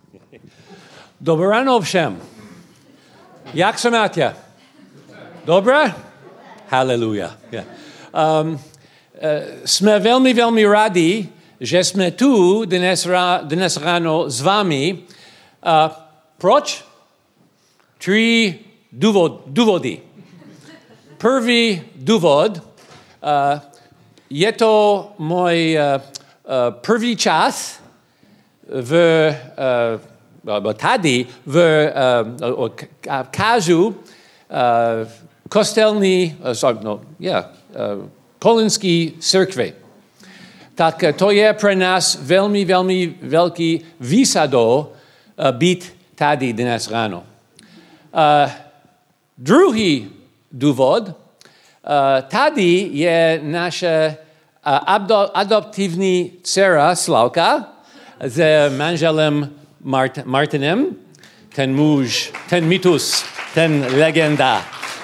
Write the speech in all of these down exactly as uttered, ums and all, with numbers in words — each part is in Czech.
Dobré ráno všem. Jak se máte? Dobré? Haleluja. Yeah. Um, uh, jsme velmi, velmi rádi, že jsme tu dnes, ra, dnes ráno s vámi. Uh, proč? Tři důvod, důvody. První důvod, uh, je to můj uh, uh, první čas v, uh, tady v uh, kážu uh, kostelní, uh, sorry, no, yeah, uh, Kolinský církve. Tak uh, to je pro nás velmi, velmi velký výsado uh, být tady dnes ráno. Uh, druhý důvod, uh, tady je naše uh, adop- adoptivní dcera Slavka s manželem Mart- Martinem, ten muž, ten mýtus, ten legenda.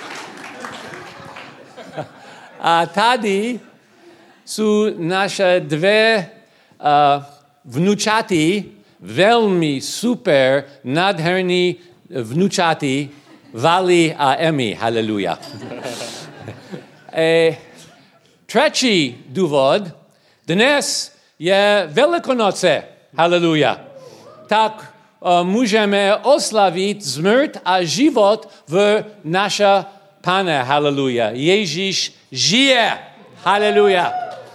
A tady jsou naše dvě uh, vnučaty, velmi super, nádherný vnučaty, Vali a Emmy. Haleluja. e, třetí důvod, dnes je Velikonoce. Haleluja. Tak uh, můžeme oslavit smrt a život v naša Pane. Haleluja. Ježíš žije. Haleluja.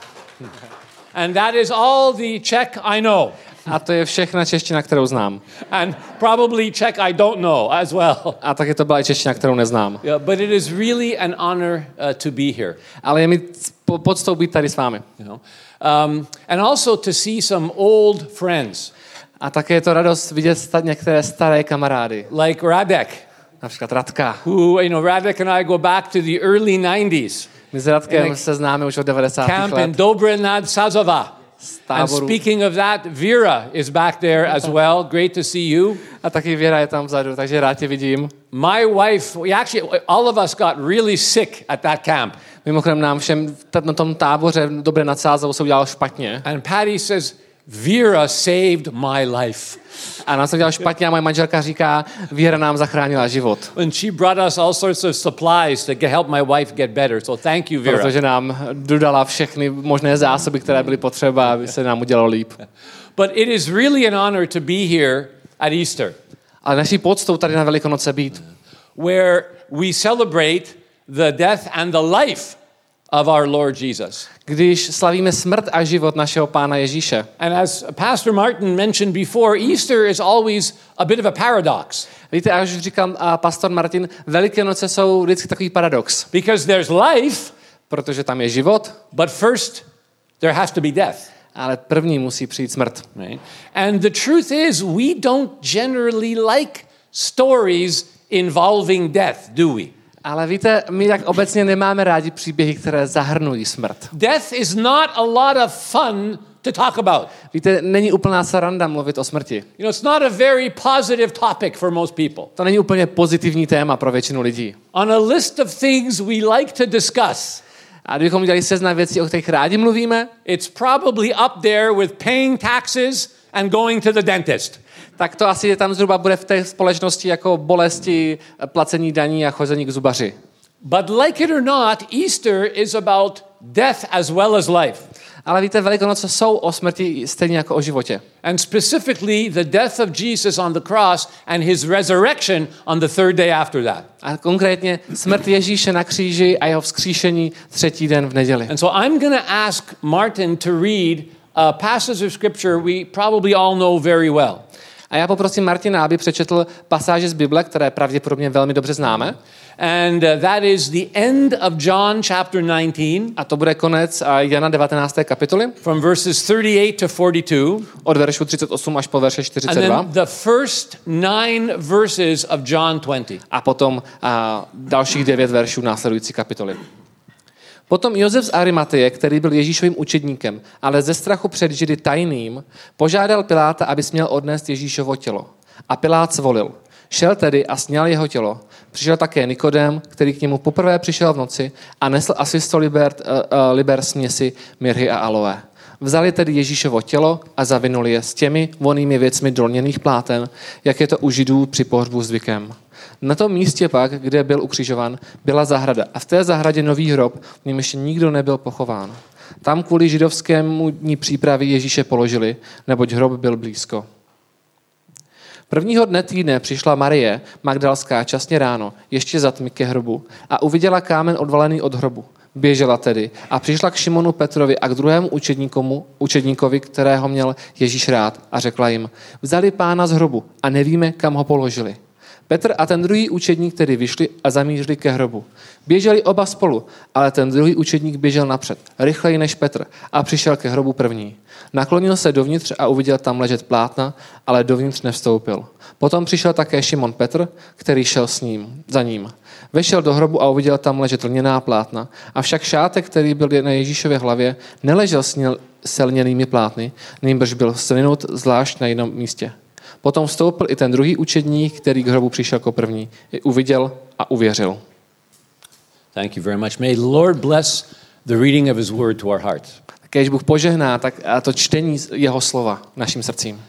And that is all the Czech I know. A to je všechna čeština, kterou znám. And probably Czech I don't know as well. A taky to byla i čeština, kterou neznám. Yeah, but it is really an honor uh, to be here. Ale je mi poctou být tady s vámi. You know? Um, and also to see some old friends. A také je to radost vidět sta- některé staré kamarády. Like Radek. Například Radka. Who, you know, Radek and I go back to the early nineties. My s Radkem se známe už od devadesátých Camp let. in Dobre nad Sazova. And speaking of that, Vera is back there as well. Great to see you. A taky Věra je tam vzadu, takže rád tě vidím. My wife, we actually, all of us got really sick at that camp. Mimochodem nám všem na tom táboře Dobré nad Sázavou se udělalo špatně. And Patty says, Vera saved my life. A nám se udělalo špatně a moje manželka říká, Věra nám zachránila život. And she brought us all sorts of supplies to help my wife get better. So thank you, Vera. Protože nám dodala všechny možné zásoby, které byly potřeba, aby se nám udělalo líp. But it is really an honor to be here at Easter. Ale naší poctou tady na Velikonoce být. Where we celebrate the death and the life of our Lord Jesus. Když slavíme smrt a život našeho Pána Ježíše. And as Pastor Martin mentioned before, Easter is always a bit of a paradox. Víte, až říkal uh, pastor Martin, Velikonoce jsou vždycky takový paradox. Because there's life, protože tam je život, but first there has to be death. Ale první musí přijít smrt. Right? And the truth is, we don't generally like stories involving death, do we? Ale víte, my tak obecně nemáme rádi příběhy, které zahrnují smrt. Death is not a lot of fun to talk about. Víte, není úplná sranda mluvit o smrti. You know, it's not a very positive topic for most people. To není úplně pozitivní téma pro většinu lidí. On a list of things we like to discuss, a kdybychom udělali seznam věcí, o kterých rádi mluvíme, it's probably up there with paying taxes and going to the dentist. Tak to asi tam zhruba bude v té společnosti jako bolesti, placení daní a chození k zubaři. But like it or not, Easter is about death as well as life. Ale víte, Velikonoce jsou o smrti stejně jako o životě. And specifically the death of Jesus on the cross and his resurrection on the third day after that. A konkrétně smrt Ježíše na kříži a jeho vzkříšení třetí den v neděli. And so I'm going to ask Martin to read a passage of scripture we probably all know very well. A já poprosím Martina, aby přečetl pasáže z Bible, které pravděpodobně velmi dobře známe. And uh, that is the end of John chapter nineteen. A to bude konec Jana devatenácté kapitoly. From verses thirty-eight to forty-two. Od veršu třicet osm až po verše čtyřicet dva. And then the first nine verses of John twenty. A potom a dalších devět veršů následující kapitoly. Potom Josef z Arimateje, který byl Ježíšovým učedníkem, ale ze strachu před Židy tajným, požádal Piláta, aby směl odnést Ježíšovo tělo. A Pilát svolil. Šel tedy a sněl jeho tělo. Přišel také Nikodém, který k němu poprvé přišel v noci a nesl asi sto liber, uh, uh, liber směsi mirhy a aloe. Vzali tedy Ježíšovo tělo a zavinuli je s těmi vonými věcmi do lněných pláten, jak je to u Židů při pohřbu zvykem. Na tom místě pak, kde byl ukřižovan, byla zahrada a v té zahradě nový hrob, v něm ještě nikdo nebyl pochován. Tam kvůli židovskému dní přípravy Ježíše položili, neboť hrob byl blízko. Prvního dne týdne přišla Marie Magdalská časně ráno, ještě za tmy ke hrobu, a uviděla kámen odvalený od hrobu. Běžela tedy a přišla k Šimonu Petrovi a k druhému učedníkomu, učedníkovi, kterého měl Ježíš rád, a řekla jim: vzali pána z hrobu a nevíme, kam ho položili. Petr a ten druhý učedník tedy vyšli a zamířili ke hrobu. Běželi oba spolu, ale ten druhý učedník běžel napřed, rychleji než Petr, a přišel ke hrobu první. Naklonil se dovnitř a uviděl tam ležet plátna, ale dovnitř nevstoupil. Potom přišel také Šimon Petr, který šel s ním, za ním. Vešel do hrobu a uviděl tam ležet lněná plátna, avšak šátek, který byl na Ježíšově hlavě, neležel s lněnými plátny, nýbrž byl svinut zvlášť na jiném místě. Potom vstoupil i ten druhý učedník, který k hrobu přišel jako první. I uviděl a uvěřil. Thank you very much. May the Lord bless the reading of his word to our hearts. Kéž Bůh požehná tak a to čtení jeho slova našim srdcím.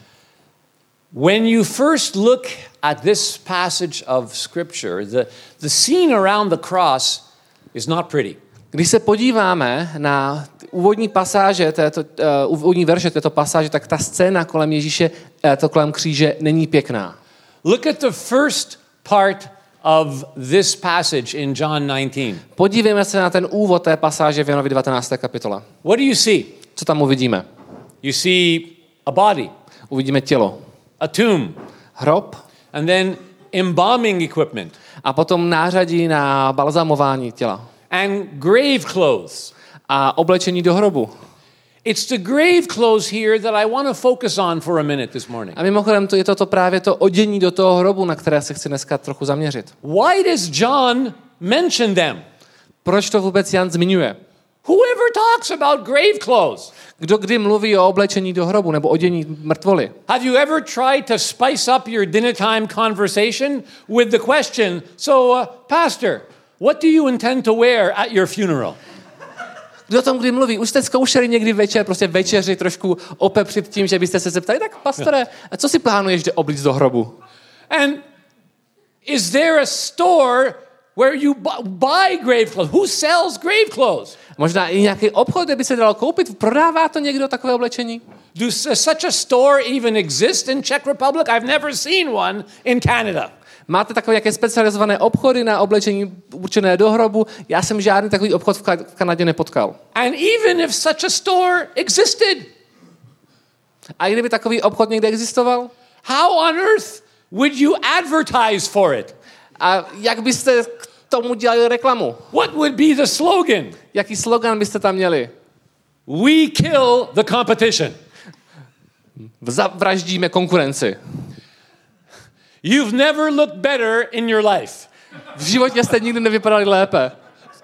When you first look at this passage of scripture, the, the scene around the cross is not pretty. Když se podíváme na úvodní pasáže, této, uh, úvodní verše této pasáže, tak ta scéna kolem Ježíše, uh, to kolem kříže, není pěkná. Look at the first part of this passage in John nineteen. Podívejme se na ten úvod té pasáže v Janovi devatenácté kapitole. What do you see? Co tam uvidíme? You see a body, Uvidíme tělo, a tomb, hrob and then embalming equipment, a potom nářadí na balzamování těla and grave clothes. a oblečení do hrobu. It's the grave clothes here that I want to focus on for a minute this morning. A mimochodem to je to, to právě to odění do toho hrobu, na které se chci dneska trochu zaměřit. Why does John mention them? Proč to vůbec Jan zmiňuje? Whoever talks about grave clothes? Kdo kdy mluví o oblečení do hrobu nebo odění mrtvoly? Have you ever tried to spice up your dinner time conversation with the question, so uh, pastor, what do you intend to wear at your funeral? Kdo o tom kdy mluví? Už jste zkoušeli někdy večer, prostě večeři trošku opepřit tím, že byste se zeptali, tak pastore, a co si plánuješ jde oblíct do hrobu? And is there a store where you bu- buy grave clothes? Who sells grave clothes? Možná i nějaký obchod, kde by se dalo koupit. Prodává to někdo takové oblečení? Do such a store even exist in Czech Republic? I've never seen one in Canada. Máte takové jaké specializované obchody na oblečení určené do hrobu? Já jsem žádný takový obchod v, Ka- v Kanadě nepotkal. And even if such a store existed, A kdyby takový obchod někde existoval? how on earth would you advertise for it? A jak byste k tomu dělali reklamu? What would be the slogan? Jaký slogan byste tam měli? We kill the competition. Zavraždíme konkurenci. You've never looked better in your life. V životě jste nikdy nevypadali lépe.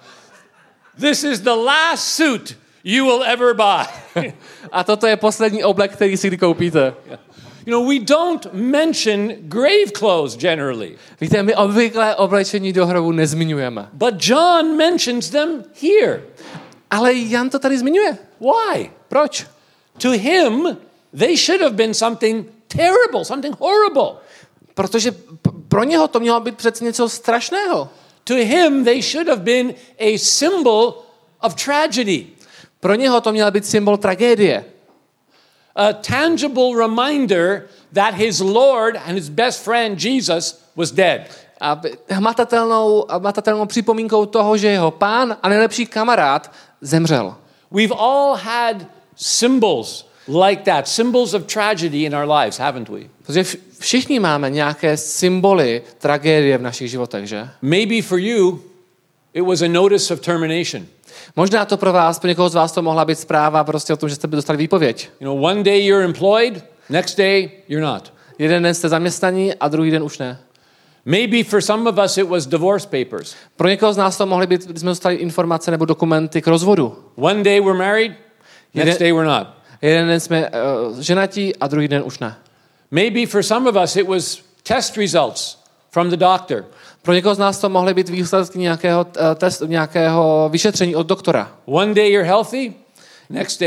This is the last suit you will ever buy. A toto je poslední oblek, který si kdy koupíte. You know, we don't mention grave clothes generally. Víte, my obvykle oblečení do hrobu nezmiňujeme. But John mentions them here. Ale Jan to tady zmiňuje. Why? Proč? To him, they should have been something terrible, something horrible. Protože p- pro něho to mělo být přece něco strašného. To him, they should have been a symbol of tragedy. Pro něho to měl být symbol tragédie. A tangible reminder that his Lord and his best friend Jesus was dead. A hmatatelnou, hmatatelnou připomínkou toho, že jeho pán a nejlepší kamarád zemřel. We've all had symbols like that, symbols of tragedy in our lives, haven't we? Protože všichni máme nějaké symboly tragédie v našich životech, že? Maybe for you, it was a notice of termination. Možná to pro vás, pro někoho z vás to mohla být zpráva prostě o tom, že jste dostali výpověď. You know, one day you're employed, next day you're not. Jeden den jste zaměstnaní a druhý den už ne. Maybe for some of us it was divorce papers. Pro někoho z nás to mohly být, když jsme dostali informace nebo dokumenty k rozvodu. One day we're married, next Jeden- day we're not. Jeden den jsme uh, ženatí a druhý den už ne. Maybe for some of us it was test results from the doctor. Pro někoho z nás to mohly být výsledky nějakého uh, testu, nějakého vyšetření od doktora. One day you're healthy, next day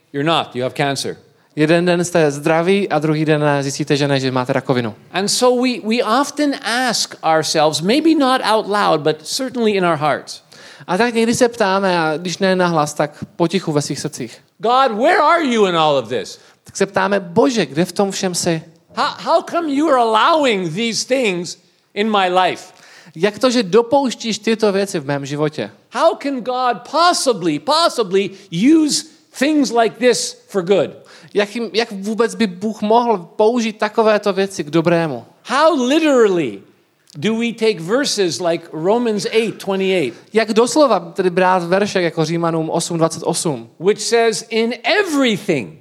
you're not, you have cancer. Jeden den jste zdraví a druhý den zjistíte, že ne, že máte rakovinu. And so we, we often ask ourselves, maybe not out loud, but certainly in our hearts. A tak někdy se ptáme, a když ne nahlas, tak potichu ve svých srdcích. God, where are you in all of this? Tak se ptáme, Bože, kde v tom všem jsi? How, how come you are allowing these things in my life? Jak to, že dopouštíš tyto věci v mém životě? How can God possibly, possibly use things like this for good? Jak, jim, jak vůbec by Bůh mohl použít takovéto věci k dobrému? How literally do we take verses like Romans eight twenty-eight? Jak doslova tedy brát veršek jako Římanům osm dvacet osm? Which says, in everything,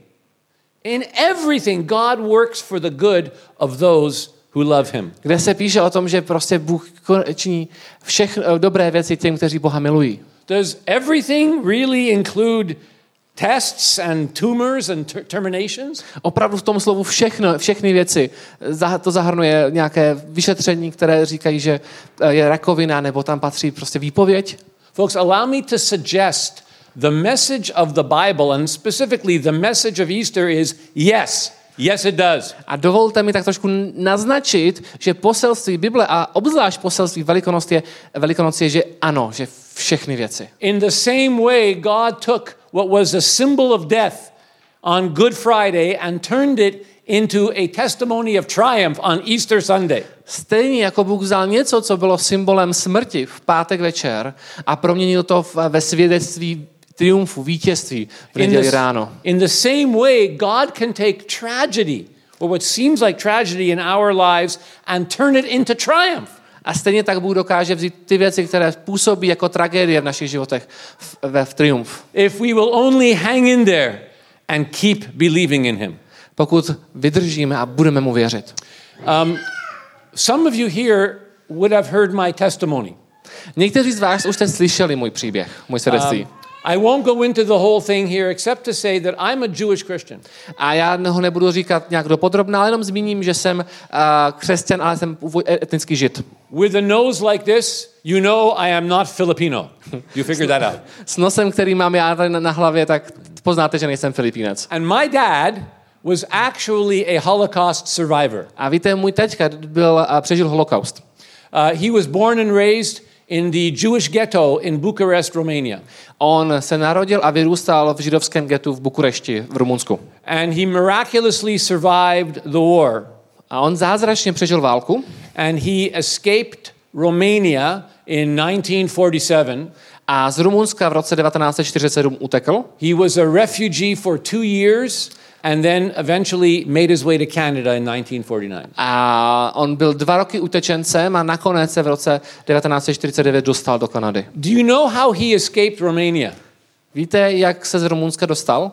in everything God works for the good of those who love him. Kde se píše o tom, že prostě Bůh činí všechny dobré věci těm, kteří Boha milují. Does everything really include tests and tumors and ter- terminations? Opravdu v tom slovu všechno, všechny věci. To zahrnuje nějaké vyšetření, které říkají, že je rakovina, nebo tam patří prostě výpověď. Folks, allow me to suggest the message of the Bible, and specifically the message of Easter, is yes. Yes, it does. A dovolte mi tak trošku naznačit, že poselství Bible a obzvlášť poselství Velikonoc je, Velikonoc je, že ano, že všechny věci. In the same way, God took what was a symbol of death on Good Friday and turned it into a testimony of triumph on Easter Sunday. Stejně jako Bůh vzal něco, co bylo symbolem smrti v pátek večer a proměnil to ve svědectví triumfu, vítězství v neděli ráno. In the same way, God can take tragedy, or what seems like tragedy in our lives, and turn it into triumph. A stejně tak Bůh dokáže vzít ty věci, které působí jako tragédie v našich životech, v, v triumf. If we will only hang in there and keep believing in him. Pokud vydržíme a budeme mu věřit. Um, some of you here would have heard my testimony. Někteří z vás už jste slyšeli můj příběh, můj svědectví. Um, I won't go into the whole thing here except to say that I'm a Jewish Christian. A já ho nebudu říkat nějak dopodrobna, ale jenom zmíním, že jsem uh, křesťan, ale jsem etnický žid. With a nose like this, you know I am not Filipino. You figured that out. S nosem, který mám já tady na, na hlavě, tak poznáte, že nejsem Filipínec. And my dad was actually a Holocaust survivor. A víte, můj teďka byl uh, přežil holokaust. Uh, he was born and raised in the Jewish ghetto in Bucharest, Romania. On se narodil a vyrůstal v židovském getu v Bukurešti v Rumunsku. And he miraculously survived the war. A on zázračně přežil válku. And he escaped Romania in nineteen forty-seven. A z Rumunska v roce devatenáct set čtyřicet sedm utekl. He was a refugee for two years and then eventually made his way to Canada in nineteen forty-nine. A on byl dva roky utečencem a nakonec se v roce devatenáct set čtyřicet devět dostal do Kanady. Do you know how he escaped Romania? Víte, jak se z Rumunska dostal?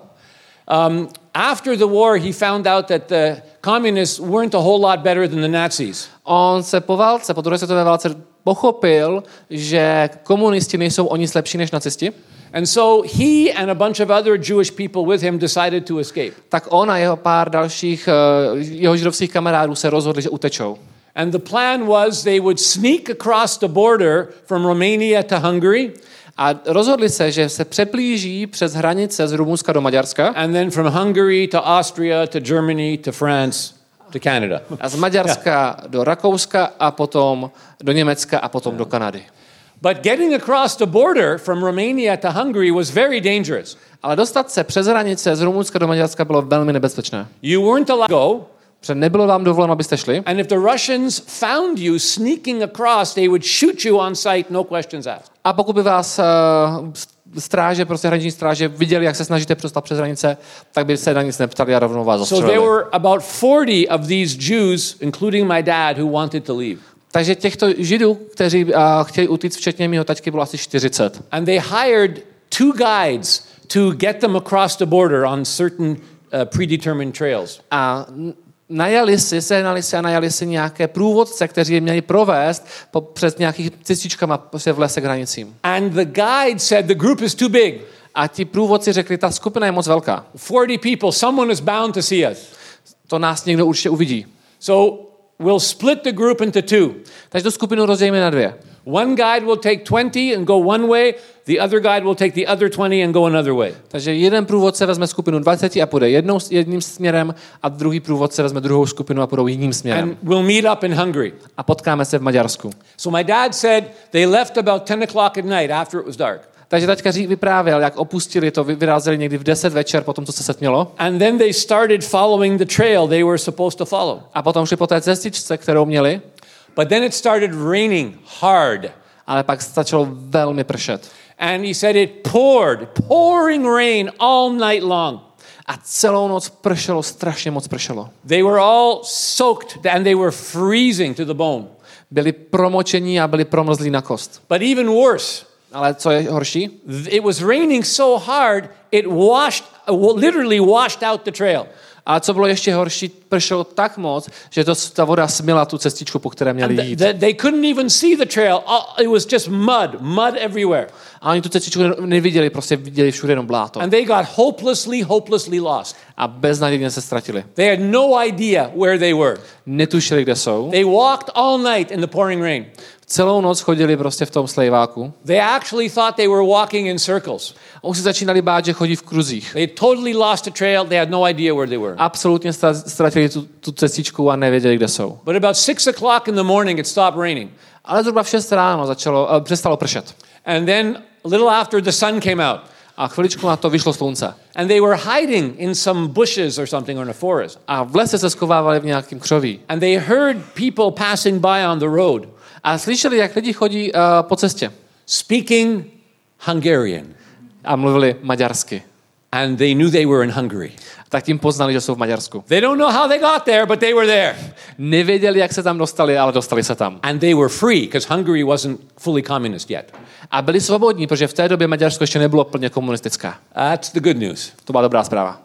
Um, after the war, he found out that the communists weren't a whole lot better than the Nazis. On se po válce, po druhé světové válce pochopil, že komunisti nejsou o nic lepší než nacisti. And so he and a bunch of other Jewish people with him decided to escape. Tak on a jeho pár dalších jeho židovských kamarádů se rozhodli, že utečou. And the plan was they would sneak across the border from Romania to Hungary. A rozhodli se, že se přeplíží přes hranice z Rumunska do Maďarska. And then from Hungary to Austria to Germany to France to Canada. A z Maďarska do Rakouska a potom do Německa a potom do Kanady. But getting across the border from Romania to Hungary was very dangerous. Ale dostat se přes hranice z Rumunska do Maďarska bylo velmi nebezpečné. You weren't allowed to go. Protože nebylo vám dovoleno, abyste šli. And if the Russians found you sneaking across, they would shoot you on sight, no questions asked. A pokud by vás uh, stráže, prostě hraniční stráže viděli, jak se snažíte přestat přes hranice, tak by se na nic neptali a rovnou vás So zastřelili. there were about forty of these Jews, including my dad, who wanted to leave. Takže těchto Židů, kteří uh, chtěli utíct, včetně mého taťky, bylo asi čtyřicet. And they hired two guides to get them across the border on certain uh, predetermined trails. A najali si, sehnali si a najali si nějaké průvodce, kteří je měli provést po, přes nějakých cestičkama prostě v lese k hranicím. And the guide said the group is too big. A ti průvodci řekli, ta skupina je moc velká. forty people, someone is bound to see us. To nás někdo určitě uvidí. So we'll split the group into two. Takže tu skupinu rozdělíme na dvě. One guide will take twenty and go one way, the other guide will take the other twenty and go another way. Takže jeden průvodce vezme skupinu dvacet a půjde jednou, jedním směrem a druhý průvodce vezme druhou skupinu a půjdou jiným směrem. And we'll meet up in Hungary. A potkáme se v Maďarsku. So my dad said they left about ten o'clock at night after it was dark. Takže taťka vyprávěl, jak opustili to, vyrazili někdy v deset večer po tom, co se setmělo. And then they started following the trail they were supposed to follow. A potom šli po té cestičce, kterou měli. But then it started raining hard. Ale pak začalo velmi pršet. And he said it poured, pouring rain all night long. A celou noc pršelo, strašně moc pršelo. They were all soaked and they were freezing to the bone. Byli promočení a byli promrzlí na kost. But even worse, ale co je horší? It was raining so hard, it washed, literally washed out the trail. A co bylo ještě horší, pršelo tak moc, že to, ta voda smila tu cestičku, po které měli jít. The, the, they couldn't even see the trail. It was just mud, mud everywhere. A oni tu cestičku neviděli, prostě viděli všude jenom bláto. And they got hopelessly, hopelessly lost. A beznadějně se ztratili. They had no idea where they were. Netušili, kde jsou. They walked all night in the pouring rain. Celou noc chodili prostě v tom slejváku. They actually thought they were walking in circles. A už se začínali bát, že chodí v kruzích. They totally lost the trail. They had no idea where they were. Absolutně ztratili tu, tu cestičku a nevěděli, kde jsou. But about six o'clock in the morning, it stopped raining. Ale zhruba v šest ráno začalo, uh, přestalo pršet. And then a little after the sun came out. A chviličku na to vyšlo slunce. And they were hiding in some bushes or something or in a forest. A v lese se schovávali v nějakém křoví. And they heard people passing by on the road. A slyšeli, jak lidi chodí uh, po cestě. Speaking Hungarian. A mluvili maďarsky. And they knew they were in Hungary. Tak tím poznali, že jsou v Maďarsku. They don't know how they got there, but they were there. Nevěděli, jak se tam dostali, ale dostali se tam. And they were free, because Hungary wasn't fully communist yet. A byli svobodní, protože v té době Maďarsko ještě nebylo plně komunistická. That's the good news. To byla dobrá zpráva.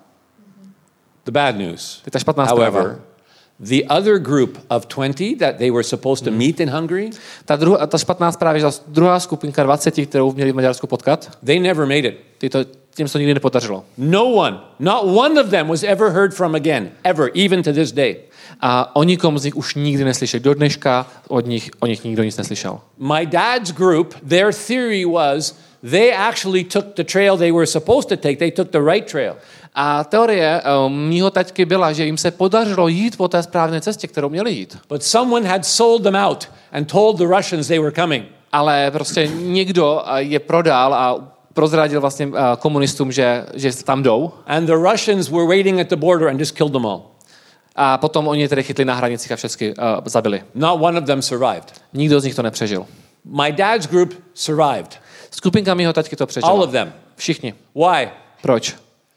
The bad news. To je špatná However, zpráva. the other group of twenty that they were supposed to meet in Hungary, Ta, druhá, ta špatná zpráva, že ta druhá skupinka dvacet, kterou měli v Maďarsku potkat, they never made it. ty to, tím se to nikdy nepodařilo. No one, not one of them was ever heard from again, ever, even to this day. A o nikom z nich už nikdy neslyšeli. Do dneška od nich, o nich nikdo nic neslyšel. My dad's group, their theory was they actually took the trail they were supposed to take. They took the right trail. A teorie um, mýho taťky byla, že jim se podařilo jít po té správné cestě, kterou měli jít. But someone had sold them out and told the Russians they were coming. Ale prostě někdo je prodal a prozradil vlastně uh, komunistům, že, že tam jdou. And the Russians were waiting at the border and just killed them all. A potom oni tedy chytli na hranicích a všechny uh, zabili. Not one of them survived. Nikdo z nich to nepřežil. My dad's group survived. Skupinka mýho taťky to přežila. All of them. Všichni. Why? Proč?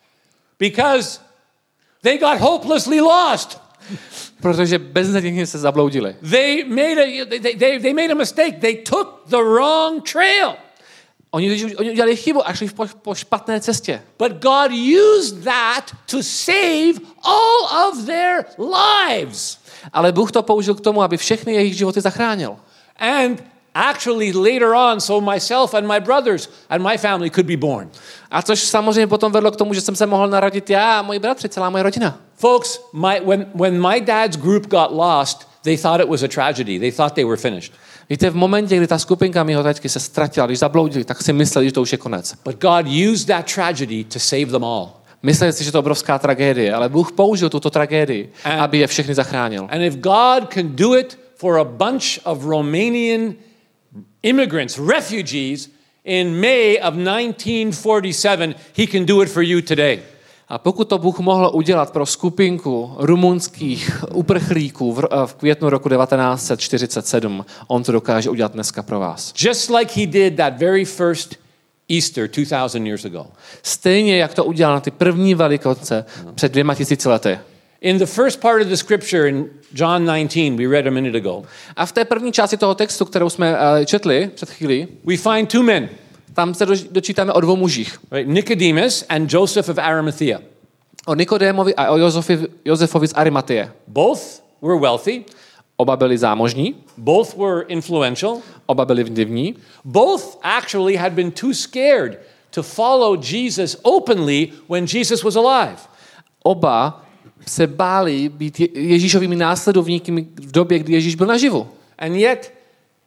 Because they got hopelessly lost. Protože beznadějně se zabloudili. They made a they, they, they made a mistake. They took the wrong trail. Oni, oni udělali chybu a šli po, po špatné cestě. But God used that to save all of their lives. Ale Bůh to použil k tomu, aby všechny jejich životy zachránil. And actually later on, so myself and my brothers and my family could be born. A což samozřejmě potom vedlo k tomu, že jsem se mohl narodit já a moji bratři, celá moje rodina. Folks, my, when, when my dad's group got lost, they thought it was a tragedy. They thought they were finished. Víte, v momentě, kdy ta skupinka mýho taťky se ztratila, když zabloudili, tak si mysleli, že to už je konec. But God used that tragedy to save them all. Mysleli si, že to je obrovská tragédie, ale Bůh použil tuto tragédii, And- aby je všechny zachránil. And if God can do it for a bunch of Romanian immigrants, refugees, in May of nineteen forty-seven, he can do it for you today. A pokud to Bůh mohl udělat pro skupinku rumunských uprchlíků v, v květnu roku devatenáct set čtyřicet sedm, on to dokáže udělat dneska pro vás. Just like he did that very first Easter two thousand years ago. Stejně, jak to udělal na ty první Velikonoce před dvěma tisíci lety. In the first part of the scripture in John nineteen, we read a minute ago, A v té první části toho textu, kterou jsme uh, četli před chvílí, we find two men, tam se doč- dočítáme o dvou mužích. right? Nicodemus and Joseph of Arimathea. O Nikodémovi a o Josefi, Josefovi z Arimatie. Both were wealthy, Oba byli zámožní, both were influential, oba byli vlivní, both actually had been too scared to follow Jesus openly when Jesus was alive. oba se báli být Je- Ježíšovými následovníky v době, kdy Ježíš byl naživu. And yet,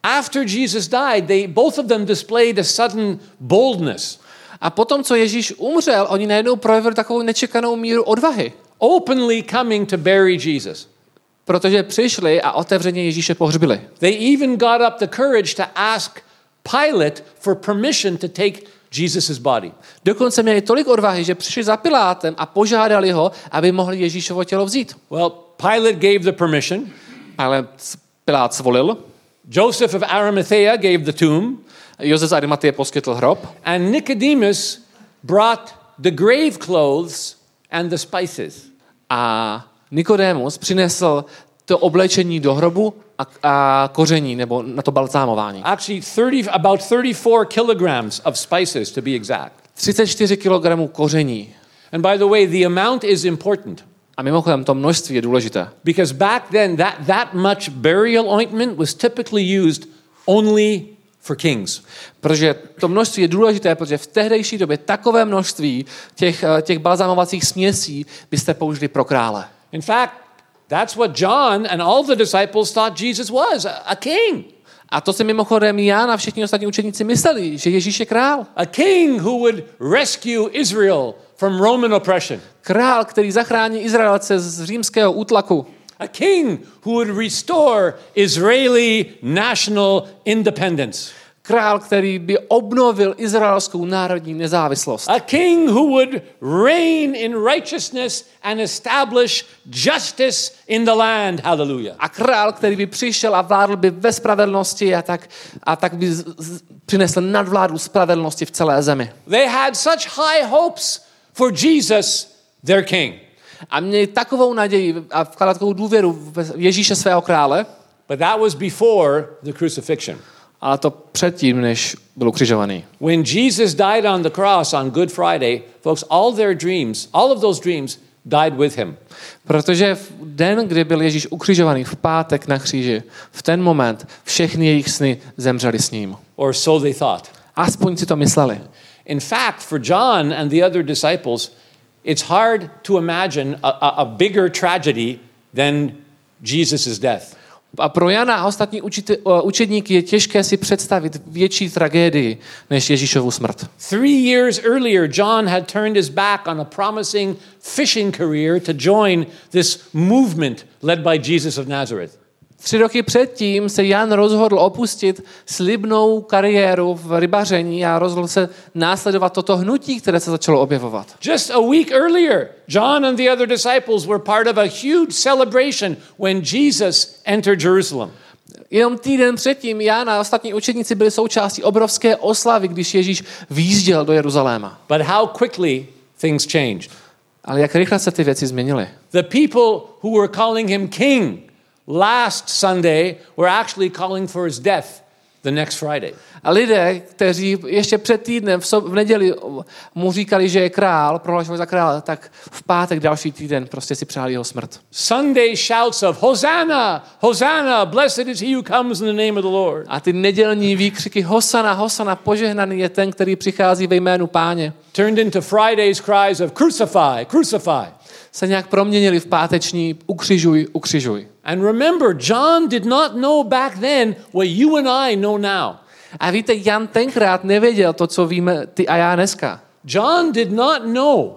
after Jesus died, they both of them displayed a sudden boldness. A potom, co Ježíš umřel, oni najednou projevili takovou nečekanou míru odvahy. Openly coming to bury Jesus. Protože přišli a otevřeně Ježíše pohřbili. They even got up the courage to ask Pilate for permission to take Jesus' body. Dokonce měli tolik odvahy, že přišli za Pilátem a požádali ho, aby mohli Ježíšovo tělo vzít. Well, Pilate gave the permission. Ale Pilát svolil. Joseph of Arimathea gave the tomb. Josef z Arimatie poskytl hrob. And Nicodemus brought the grave clothes and the spices. A Nikodémus přinesl to oblečení do hrobu a, a koření, nebo na to balzámování. Actually, thirty, about thirty-four kilograms of spices, to be exact. třicet čtyři kilogramů koření. And by the way, the amount is important. A mimochodem, to množství je důležité. Because back then, that, that much burial ointment was typically used only for kings. Protože to množství je důležité, protože v tehdejší době takové množství těch, těch balzámovacích směsí byste použili pro krále. In fact, that's what John and all the disciples thought Jesus was, a, a king. A to si mimochodem Jan a všichni ostatní učeníci mysleli, že Ježíš je král. A king who would rescue Israel from Roman oppression. Král, který zachrání Izraelce z římského útlaku. A king who would restore Israeli national independence. Král, který by obnovil izraelskou národní nezávislost. A king who would reign in righteousness and establish justice in the land. Hallelujah. A král, který by přišel a vládl by ve spravedlnosti a tak, a tak by z, z, přinesl nadvládu spravedlnosti v celé zemi. They had such high hopes for Jesus, their king. A měli takovou naději a vkládat takovou důvěru v Ježíše svého krále. But that was before the crucifixion. Ale to předtím, než byl ukřižovaný. When Jesus died on the cross on Good Friday, folks, all their dreams, all of those dreams died with him. Protože v den, kdy byl Ježíš ukřižovaný, v pátek na kříži, v ten moment všechny jejich sny zemřely s ním. Or so they thought. Aspoň si to mysleli. In fact, for John and the other disciples, it's hard to imagine a, a, a bigger tragedy than Jesus' death. A pro Jana a ostatní učite, učedníky je těžké si představit větší tragédii než Ježíšovu smrt. Three years earlier, John had turned his back on a promising fishing career to join this movement led by Jesus of Nazareth. Tři roky předtím se Jan rozhodl opustit slibnou kariéru v rybaření a rozhodl se následovat toto hnutí, které se začalo objevovat. Just a week earlier, John and the other disciples were part of a huge celebration when Jesus entered Jerusalem. Jenom týden předtím Jan a ostatní učedníci byli součástí obrovské oslavy, když Ježíš výjížděl do Jeruzaléma. But how quickly things changed. Ale jak rychle se ty věci změnily. The people who were calling him king last Sunday were actually calling for his death the next Friday. A lidé, kteří ještě před týdnem v, so, v neděli mu říkali, že je král, prohlašovali za krále, tak v pátek další týden prostě si přáli jeho smrt. Sunday shouts of Hosanna, Hosanna, blessed is he who comes in the name of the Lord. A ty nedělní výkřiky Hosana, Hosana, požehnaný je ten, který přichází ve jménu Páně. Turned into Friday's cries of crucify, crucify. Se nějak proměnili v páteční ukřižuj, ukřižuj. And remember, John did not know back then what you and I know now. A víte, Jan tenkrát nevěděl to, co víme ty a já dneska. John did not know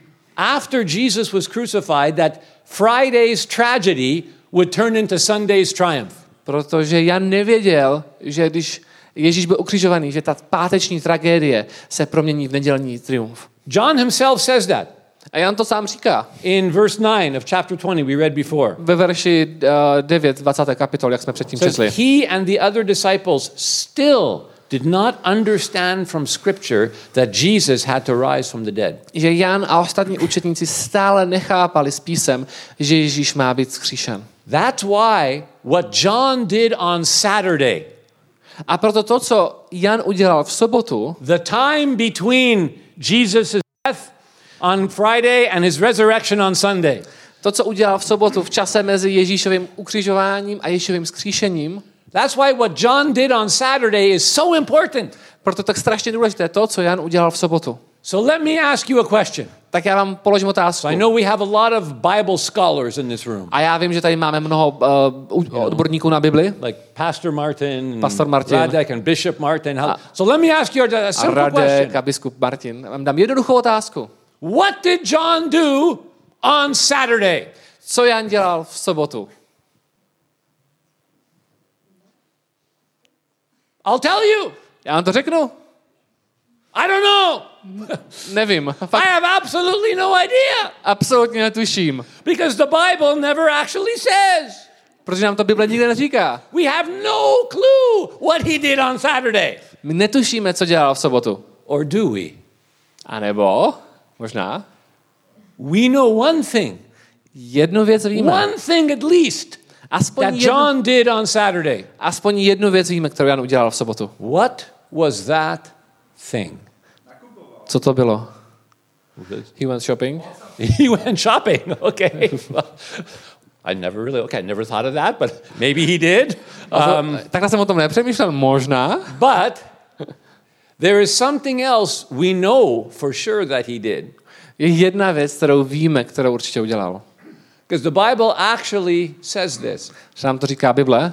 after Jesus was crucified that Friday's tragedy would turn into Sunday's triumph. Protože Jan nevěděl, že když Ježíš byl ukřižovaný, že ta páteční tragédie se promění v nedělní triumf. John himself says that. A Jan to sám říká. In verse nine of chapter twenty we read before. Ve verši uh, devět, dvacáté kapitol, jak jsme předtím četli. He and the other disciples still did not understand from scripture that Jesus had to rise from the dead. Že Jan a ostatní učedníci stále nechápali z písem, že Ježíš má být vzkříšen. That's why what John did on Saturday. A proto to, co Jan udělal v sobotu, the time between Jesus' death on Friday and his resurrection on Sunday. To, co udělal v sobotu v čase mezi Ježíšovým ukřižováním a Ježíšovým vzkříšením. That's why what John did on Saturday is so important. Proto tak strašně důležité to, co Jan udělal v sobotu. So let me ask you a question. Tak já vám položím otázku. So I know we have a lot of Bible scholars in this room. A já vím, že tady máme mnoho uh, odborníků na Bibli. Like Pastor Martin, and Pastor Martin. Radek and Bishop Martin. How, so let me ask you a, a A simple Radek question. a biskup Martin. Vám dám jednoduchou otázku. What did John do on Saturday? Co Jan dělal v sobotu? I'll tell you. Já vám to řeknu. I don't know. Nevím. I Fakt have absolutely no idea. absolutně netuším. Because the Bible never actually says. Protože nám to Bible nikde neříká. We have no clue what he did on Saturday. My netušíme, co dělal v sobotu. Or do we? A nebo, možná, We know one thing. jednu věc víme. One thing at least Aspoň that jednu, John did on Saturday. aspoň jednu věc víme, kterou Jan udělal v sobotu. What was that thing? Co to bylo? He went shopping. He went shopping. Okay. I never really, okay, I never thought of that, but maybe he did. Um, Takhle jsem o tom nepřemýšlel, možná. but there is something else we know for sure that he did. Je jedna věc, kterou víme, kterou určitě udělal. Because the Bible actually says this. Že nám to říká Bible.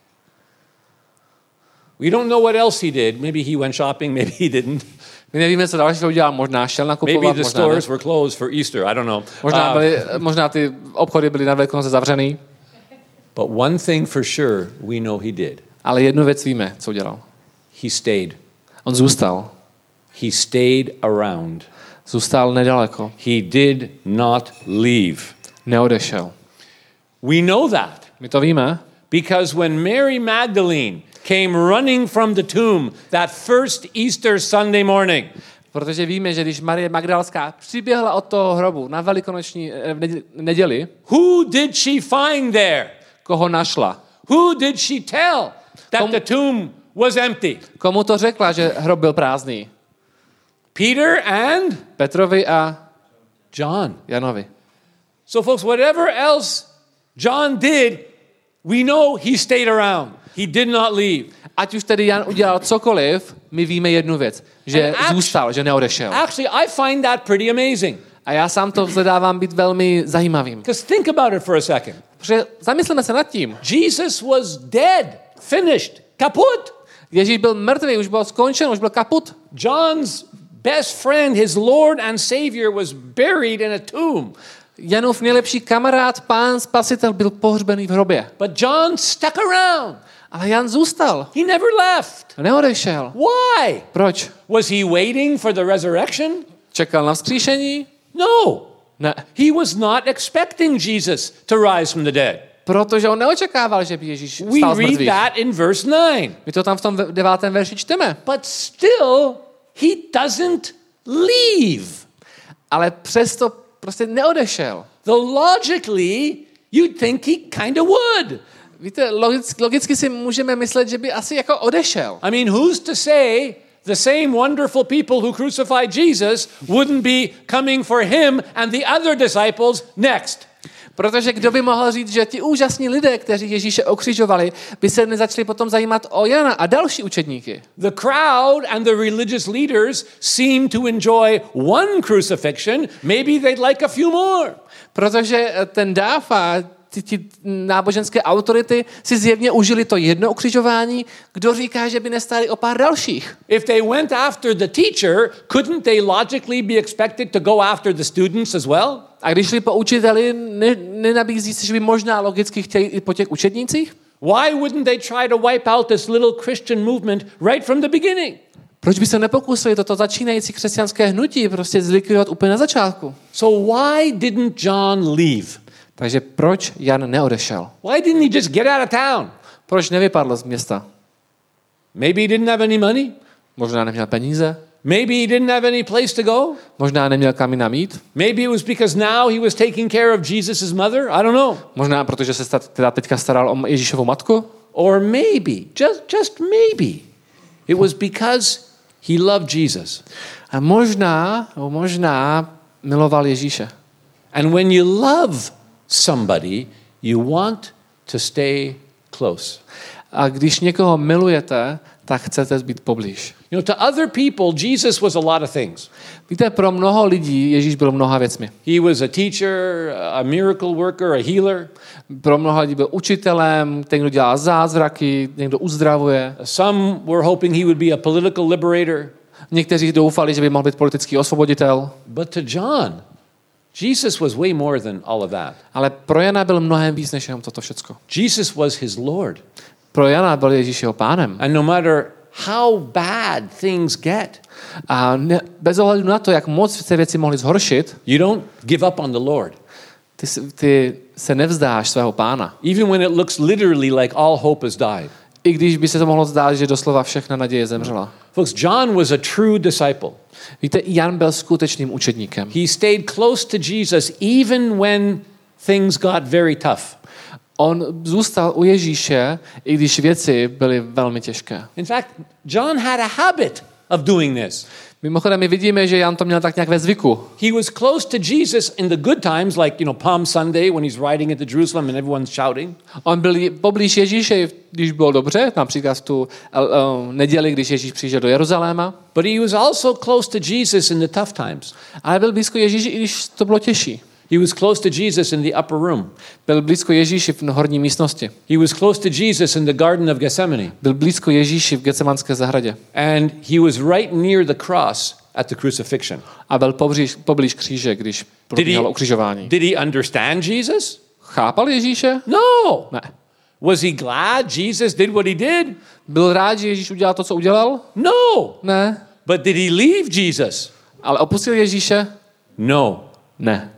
We don't know what else he did. Maybe he went shopping, maybe he didn't. My nevíme, co dalšího udělal. Možná šel Maybe nakupovat, the možná ne. stores were closed for Easter. I don't know. Možná, Uh, byly, možná ty obchody byly na Velikonoce zavřený. but one thing for sure we know he did. Ale jednu věc víme, co udělal. He stayed. On zůstal. He stayed around. Zůstal nedaleko. He did not leave. Neodešel. We know that My to víme, because when Mary Magdalene came running from the tomb that first Easter Sunday morning, protože víme, že když Marie Magdalská přiběhla od toho hrobu na velikonoční eh, v nedě- neděli, who did she find there? koho našla? Who did she tell that Kom- the tomb was empty? Komu to řekla, že hrob byl prázdný? Peter and Petrovi a John. Janovi. So folks, whatever else John did, we know he stayed around. He did not leave. Ať už tedy Jan udělal cokoliv, my víme jednu věc, že And actu- zůstal, že neodešel. Actually, I find that pretty amazing. A já sám to vzhledávám být velmi zajímavým. Because think about it for a second. Protože zamysleme se nad tím. Jesus was dead, finished, kaput. Ježíš byl mrtvý, už byl skončen, už byl kaput. John's best friend, his Lord and Savior, was buried in a tomb. Janův nejlepší kamarád, pán spasitel, byl pohřbený v hrobě. But John stuck around. Ale Jan zůstal. He never left. Neodešel. Why? Proč? Was he waiting for the resurrection? Čekal na vzkříšení? No. Ne. He was not expecting Jesus to rise from the dead. Protože on neočekával, že by Ježíš We vstal z read mrtvých. that in verse nine. My to tam v tom devátém verši čteme. But still, he doesn't leave. Ale přesto prostě neodešel. Though logically, you'd think he kind of would. Víte, logicky, logicky si můžeme myslet, že by asi jako odešel. I mean, who's to say the same wonderful people who crucified Jesus wouldn't be coming for him and the other disciples next? Protože kdo by mohl říct, že ti úžasní lidé, kteří Ježíše okřižovali, by se nezačali potom zajímat o Jana a další učedníky. The crowd and the religious leaders seem to enjoy one crucifixion. Maybe they'd like a few more. Protože ten dáv a ty, ty náboženské autority si zjevně užili to jedno ukřižování, kdo říká, že by nestáli o pár dalších. If they went after the teacher, couldn't they logically be expected to go after the students as well? A když šli po učiteli, ne, nenabízí se, že by možná logicky chtěli i po těch učednících? Why wouldn't they try to wipe out this little Christian movement right from the beginning? Proč by se nepokusili toto začínající křesťanské hnutí prostě zlikvidovat úplně na začátku? So why didn't John leave? Takže proč Jan neodešel? Why didn't he just get out of town? Proč nevypadl z města? Maybe he didn't have any money. Možná neměl peníze? Maybe he didn't have any place to go. Možná neměl kam jinam jít? Maybe it was because now he was taking care of Jesus' mother. I don't know. Možná protože se sta- teda teďka staral o Ježíšovu matku? Or maybe, just, just maybe, it was because he loved Jesus. A možná, nebo možná miloval Ježíše. And when you love somebody, you want to stay close. A když někoho milujete, tak chcete být poblíž. You know, to other people, Jesus was a lot of things. Víte, pro mnoho lidí Ježíš byl mnoha věcmi. He was a teacher, a miracle worker, a healer. Pro mnoha lidí byl učitelem, ten, kdo dělá zázraky, někdo uzdravuje. Some were hoping he would be a political liberator. Někteří doufali, že by mohl být politický osvoboditel. But to John, Jesus was way more than all of that. Ale pro Jana byl mnohem víc než jenom toto všecko. Jesus was his Lord. Pro Jana byl Ježíš jeho pánem. And no matter how bad things get, A ne, bez ohledu na to, jak moc se věci mohly zhoršit, you don't give up on the Lord. ty, ty se nevzdáš svého pána. Even when it looks literally like all hope has died. I když by se to mohlo zdát, že doslova všechna naděje zemřela. Folks, John was a true disciple. Víte, Jan byl skutečným učedníkem. He stayed close to Jesus even when things got very tough. On zůstal u Ježíše, i když věci byly velmi těžké. In fact, John had a habit of doing this. Mimochodem, my vidíme, že Jan to měl tak nějak ve zvyku. He was close to Jesus in the good times, like, you know, Palm Sunday when he's riding into Jerusalem and everyone's shouting. On byl poblíž Ježíše, když bylo dobře, například v tu uh, neděli, když Ježíš přišel do Jeruzaléma. But he was also close to Jesus in the tough times. Ale byl blízko Ježíši, i když to bylo těžší. He was close to Jesus in the upper room. Byl blízko Ježíši v horní místnosti. He was close to Jesus in the Garden of Gethsemane. Byl blízko Ježíši v Getsemanské zahradě. And he was right near the cross at the crucifixion. A byl poblíž, poblíž kříže, když probíhalo ukřižování. Did he understand Jesus? Chápal Ježíše? No. Ne. Was he glad Jesus did what he did? Byl rád, že Ježíš udělal to, co udělal? No. Ne. But did he leave Jesus? Ale opustil Ježíše? No. Ne.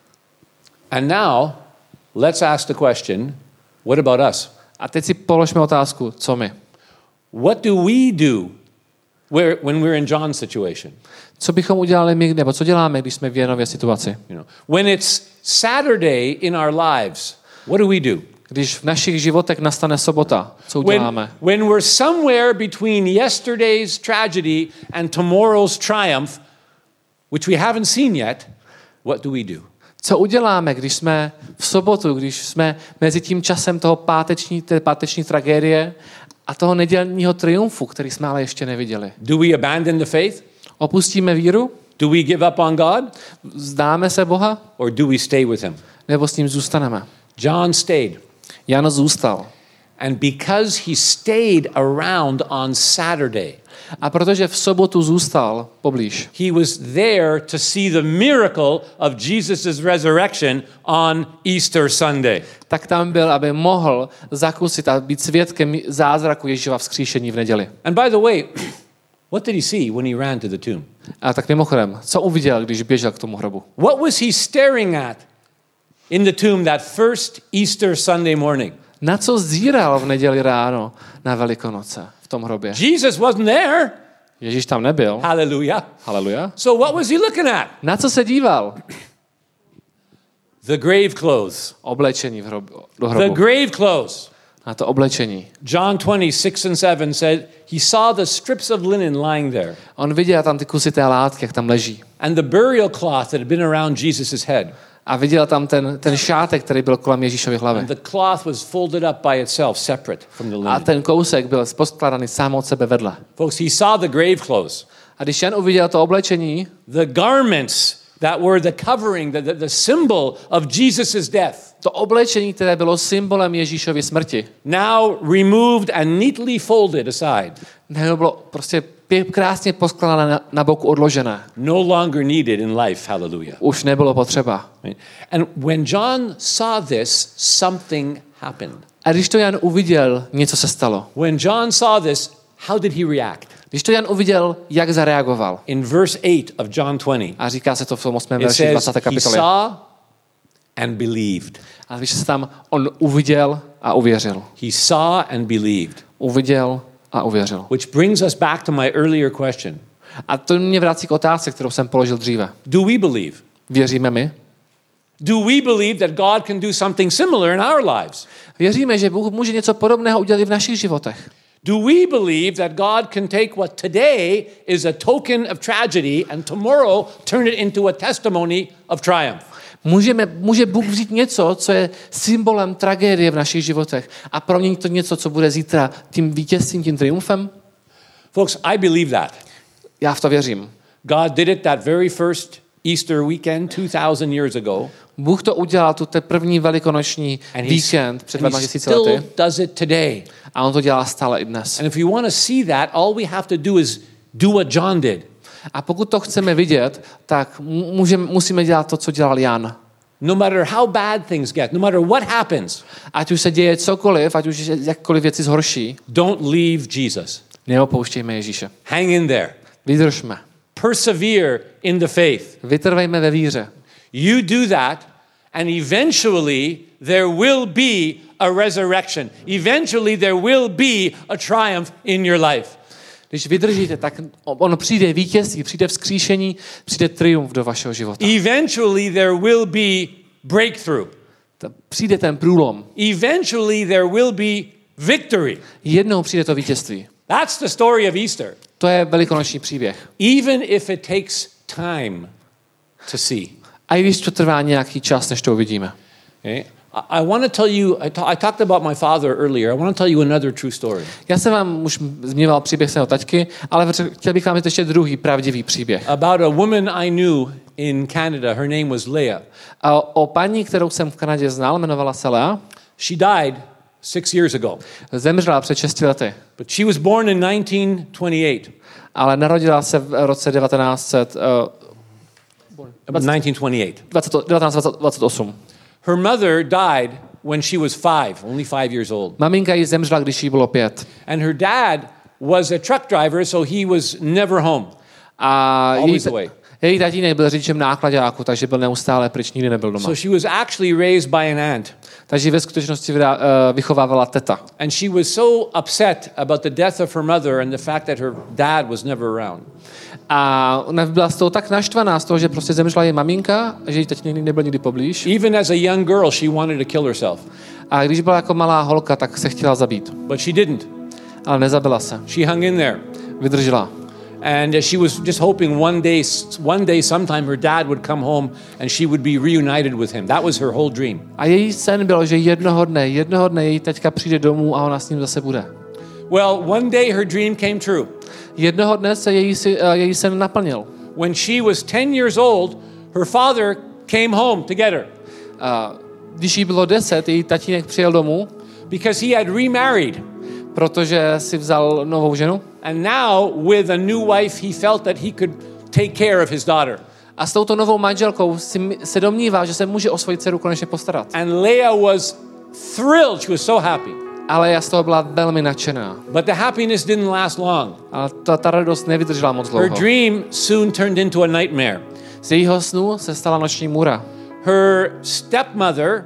And now, let's ask the question, what about us? A teď si položme otázku, co my? What do we do where, when we're in John's situation? Co bychom udělali my, nebo co děláme, když jsme v Janové situaci? You know, when it's Saturday in our lives, what do we do? Když v našich životech nastane sobota, co When, uděláme? when we're somewhere between yesterday's tragedy and tomorrow's triumph, which we haven't seen yet, what do we do? Co uděláme, když jsme v sobotu, když jsme mezi tím časem toho páteční, té páteční tragédie a toho nedělního triumfu, který jsme ale ještě neviděli? Do we abandon the faith? Opustíme víru? Do we give up on God? Vzdáme se Boha? Or do we stay with him? Nebo s ním zůstaneme? John stayed. Jan zůstal. And because he stayed around on Saturday, a protože v sobotu zůstal poblíž, he was there to see the miracle of Jesus' resurrection on Easter Sunday. tak tam byl, aby mohl zakusit a být svědkem zázraku Ježíšova vzkříšení v neděli. And by the way, what did he see when he ran to the tomb? A tak mimochodem, co uviděl, když běžel k tomu hrobu? What was he staring at in the tomb that first Easter Sunday morning? Na co zíral v neděli ráno na Velikonoce v tom hrobě? Jesus wasn't there. Ježíš tam nebyl. Hallelujah. Haleluja. So what was he looking at? Na co se díval? The grave clothes. Oblečení v hrobu, do The hrobu. grave clothes. Na to oblečení. John twenty, six and seven said he saw the strips of linen lying there. On viděl tam ty kusy té látky, jak tam leží. And the burial cloth that had been around Jesus' head. A viděl tam ten, ten šátek, který byl kolem Ježíšovy hlavy. And the cloth was folded up by itself, separate from the A linen. ten kousek byl poskladaný sám od sebe vedle. Folks, he saw the grave clothes. A když Jan uviděl to oblečení, The garments that were the covering, the, the, the symbol of Jesus' death. to oblečení, které bylo symbolem Ježíšovy smrti, Now removed and neatly folded aside. nebo bylo prostě pě- krásně poskladané na, na boku odložené. No longer needed in life. Hallelujah. Už nebylo potřeba. Right? And when John saw this, something happened. A když to Jan uviděl, něco se stalo. When John saw this, how did he react? Když to Jan uviděl, jak zareagoval. In verse eight of John twenty, A říká se to v tom osmém it verši says dvacáté he kapitoly. saw and believed. A když se tam on uviděl a uvěřil. He saw and believed. Uviděl a uvěřil. Which brings us back to my earlier question. A to mě vrací k otázce, kterou jsem položil dříve. Do we believe? Věříme my? Do we believe that God can do something similar in our lives? Věříme, že Bůh může něco podobného udělat i v našich životech. Do we believe that God can take what today is a token of tragedy and tomorrow turn it into a testimony of triumph? Můžeme, může Bůh vzít něco, co je symbolem tragédie v našich životech a proměnit to něco, co bude zítra tím vítězstvím, tím triumfem? Folks, I believe that. Já v to věřím. God did it that very first Easter weekend two thousand years ago. Bůh to udělal tu ten první velikonoční víkend před dvěma tisíci lety. Does it today. A on to dělá stále i dnes. And if we want to see that, all we have to do is do what John did. A pokud to chceme vidět, tak můžeme, musíme dělat to, co dělal Jan. No matter how bad things get, no matter what happens, ať už se děje cokoliv, ať už jakkoliv věci zhorší, don't leave Jesus. neopouštějme Ježíše. Hang in there. Vydržme. Persevere in the faith. Vytrvejme ve víře. You do that, and eventually there will be a resurrection. Eventually there will be a triumph in your life. Když vydržíte, tak ono přijde vítězství, přijde vzkříšení, přijde triumf do vašeho života. Eventually there will be breakthrough. Přijde ten průlom. Eventually there will be victory. Jednou přijde to vítězství. That's the story of Easter. To je velikonoční příběh. Even if it takes time to see. A i když to trvá nějaký čas, než to uvidíme. Okay? I want to tell you, I, ta- I talked about my father earlier. I want to tell you another true story. Já jsem vám už zmiňoval příběh svého taťky, ale chtěl bych vám říct ještě druhý pravdivý příběh. About a woman I knew in Canada. Her name was Leah. A o paní, kterou jsem v Kanadě znal, jmenovala se Lea. She died six years ago. Zemřela před šesti lety. But she was born in nineteen twenty-eight. Ale narodila se v roce devatenáct set nineteen twenty-eight. devatenáct dvacet osm. Her mother died when she was five, only five years old. Maminka jí zemřela, když jí bylo pět. And her dad was a truck driver, so he was never home. A Always její, away. Její tatínek byl řidičem nákladáku, takže byl neustále pryč, nikdy nebyl doma. So she was actually raised by an aunt. Takže ve skutečnosti vychovávala teta. And she was so upset about the death of her mother and the fact that her dad was never around. A ona byla z toho tak naštvaná z toho, že prostě zemřela její maminka, že její tatínek nebyl nikdy poblíž. Even as a young girl, she wanted to kill herself. A když byla jako malá holka, tak se chtěla zabít. But she didn't. Ale nezabila se. She hung in there. Vydržela. And uh, she was just hoping one day, one day, sometime her dad would come home and she would be reunited with him. That was her whole dream. A její sen byl, že jednoho dne, jednoho dne její teďka přijde domů a ona s ním zase bude. Well, one day her dream came true. Jednoho dne se její, uh, její sen naplnil. When she was ten years old, her father came home to get her. Uh, když jí bylo deset, její tatínek přijel domů. Because he had remarried. Protože si vzal novou ženu. And now with a new wife he felt that he could take care of his daughter. A s touto novou manželkou si, se domnívá, že se může o svoji dceru konečně postarat. And Leah was thrilled. She was so happy. Ale já z toho byla velmi nadšená. But the happiness didn't last long. Ale ta, ta radost nevydržela moc dlouho. Her dream soon turned into a nightmare. Z jejího snu se stala noční můra. Her stepmother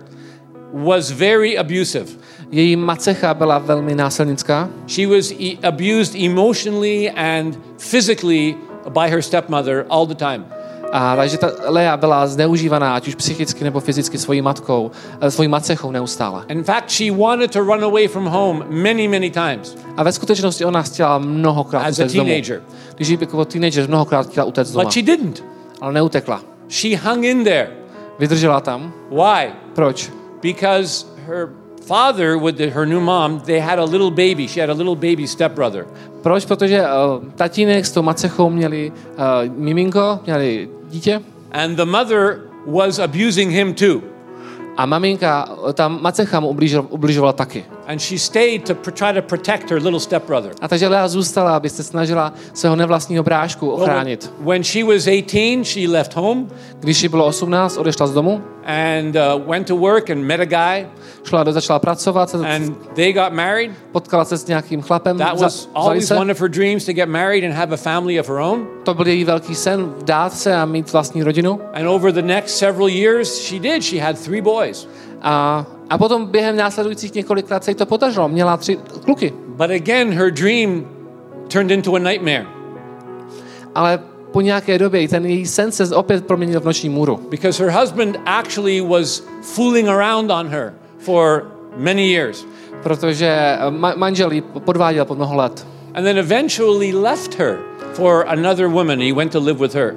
was very abusive. Její macecha byla velmi násilnická. She was e- abused emotionally and physically by her stepmother all the time. A takže ta Lea byla zneužívaná, ať už psychicky nebo fyzicky svojí matkou, svojí macechou neustále. In fact, she wanted to run away from home many, many times. A ve skutečnosti ona chtěla mnohokrát as a utéct domů. teenager. Když jí jako teenager mnohokrát chtěla utéct doma. But she didn't. Ale neutekla. She hung in there. Vydržela tam. Why? Proč? Because her father with the, her new mom, they had a little baby. She had a little baby stepbrother. Proč? Protože uh, tatínek s tou macechou měli uh, miminko, měli dítě. And the mother was abusing him too. A maminka, ta macecha mu ubližovala, ubližovala taky. And she stayed to pr- try to protect her little stepbrother. A takže Lea zůstala, aby se snažila svého nevlastního brášku ochránit. Well, when she was eighteen, she left home. Když jí bylo osmnáct, odešla z domu. And uh, went to work and met a guy. Šla do, začala pracovat. And they got married. Potkala se s nějakým chlapem. That was always one of her dreams, to get married and have a family of her own. To byl její velký sen, vdát se a mít vlastní rodinu. And over the next several years, she did. She had three boys. A, a potom během následujících několik let se jí to podařilo. Měla tři kluky. But again, her dream turned into a nightmare. Ale po nějaké době ten její sen se opět proměnil v noční můru. Because her husband actually was fooling around on her for many years. Protože ma- manžel ji podváděl po mnoho let. And then eventually left her for another woman. He went to live with her.